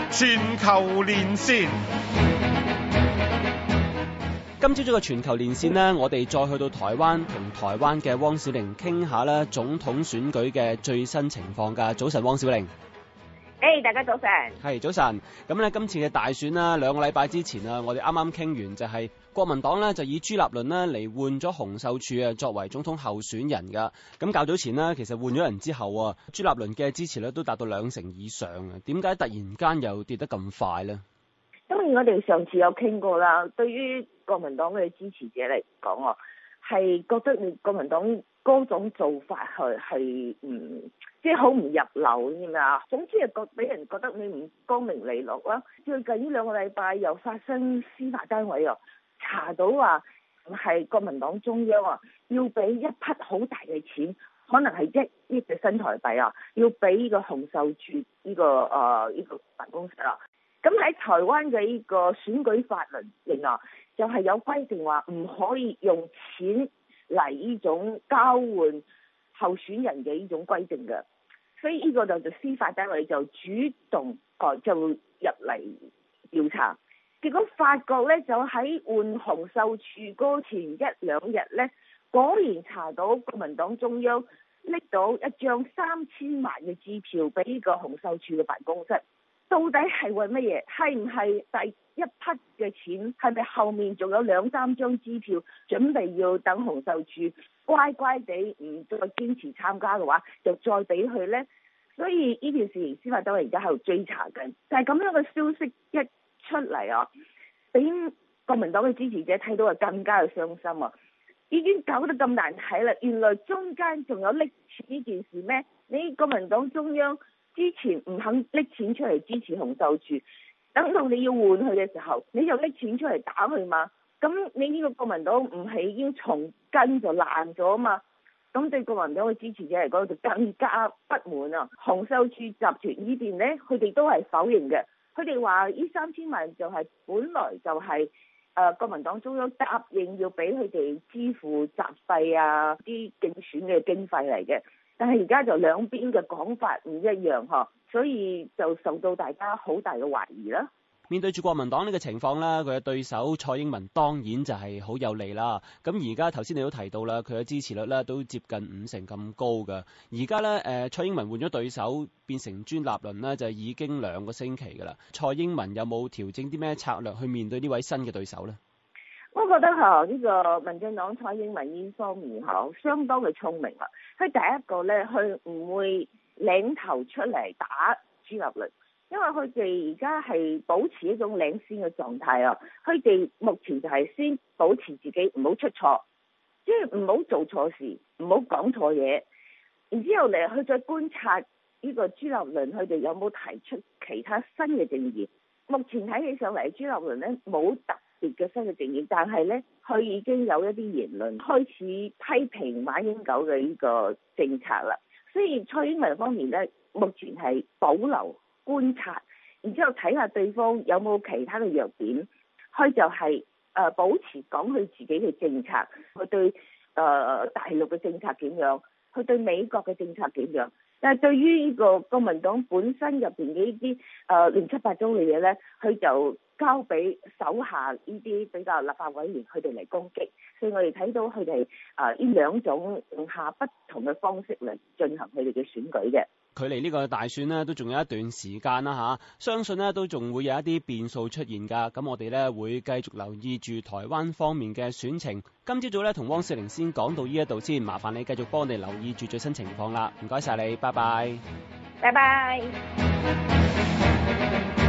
全球連線。 今朝早嘅全球連線呢，我哋再去到台灣，同台灣嘅汪小玲傾下啦，總統選舉嘅最新情況㗎。早晨，汪小玲。 大家早晨。係早晨。咁呢，今次嘅大選啦，2個禮拜之前啊，我哋啱啱傾完就係國民黨呢，就以朱立倫呢嚟換咗洪秀柱啊作為總統候選人㗎。咁較早前呢，其實換咗人之後啊，朱立倫嘅支持率都達到2成以上啊。點解突然間又跌得咁快呢？ 當然我哋上次有傾過啦，對於國民黨嘅支持者嚟講，係覺得你國民黨嗰種做法係即係好唔入流，知嘛？總之係俾人覺得你唔光明磊落啦。最近呢2個禮拜又發生司法單位查到話係國民黨中央要俾一筆好大嘅錢，可能係1億嘅新台幣要俾呢個洪秀柱呢個辦公室咁喺台灣嘅呢個選舉法律令就係有規定話唔可以用錢嚟呢種交換候選人嘅呢種規定嘅，所以呢個就司法單位就主動就入嚟調查，結果發覺咧就喺換洪秀柱嗰前1-2日咧，果然查到國民黨中央拎到一張3000萬嘅支票俾呢個洪秀柱嘅辦公室。到底係為乜嘢？係唔係第一筆嘅錢？係咪後面仲有2-3張支票，準備要等洪秀柱乖乖地唔再堅持參加嘅話，就再俾佢呢？所以呢件事情司法單位而家喺度追查緊。但係咁樣嘅消息一出嚟俾國民黨嘅支持者睇到更加嘅傷心已經搞得咁難睇啦！原來中間仲有搦錢呢件事咩？你國民黨中央之前唔肯搦錢出嚟支持洪秀柱，等到你要換佢嘅時候，你就搦錢出嚟打佢嘛？咁你呢個國民黨唔係已經從根就爛咗嘛？咁對國民黨嘅支持者嚟講就更加不滿洪秀柱集團呢邊呢，佢哋都係否認嘅。佢哋話呢3000萬就係本來就係國民黨中央答應要俾佢哋支付雜費啲競選嘅經費嚟嘅。但係而家就兩邊嘅講法唔一樣所以就受到大家好大嘅懷疑啦。 面對住國民黨呢個情況啦，佢嘅對手蔡英文當然就係好有利啦。咁而家頭先你都提到啦，佢嘅支持率咧都接近5成咁高㗎。而家咧蔡英文換咗對手變成朱立倫咧，就已經2個星期㗎啦。蔡英文有冇調整啲咩策略去面對呢位新嘅對手咧？ 我覺得呢個民進黨蔡英文呢方面相當嘅聰明佢第一個咧，佢唔會領頭出嚟打朱立倫，因為佢哋而家係保持一種領先嘅狀態佢哋目前就係先保持自己唔好出錯，即係唔好做錯事，唔好講錯嘢，然之後嚟去再觀察呢個朱立倫佢哋有冇提出其他新嘅政見。目前睇起上嚟，朱立倫咧冇特別嘅新嘅政見，但係咧佢已經有一啲言論開始批評馬英九嘅呢個政策啦。所以蔡英文方面咧，目前係保留觀察，然之後睇下對方有冇其他嘅弱點，佢就係保持講佢自己嘅政策，佢對大陸嘅政策點樣，佢對美國嘅政策點樣。但係對於呢個國民黨本身入邊嘅呢啲亂七八糟嘅嘢咧，佢就交俾手下呢啲比較立法委員佢哋嚟攻擊，所以我哋睇到佢哋呢兩種用下不同嘅方式嚟進行佢哋嘅選舉嘅。 距離呢個大選呢都仲有一段時間啦相信呢都仲會有一啲變數出現㗎。咁我哋呢會繼續留意住台灣方面嘅選情。今朝早呢同汪小玲先講到呢一度先，麻煩你繼續幫我哋留意住最新情況啦。唔該晒你，拜拜。 拜拜。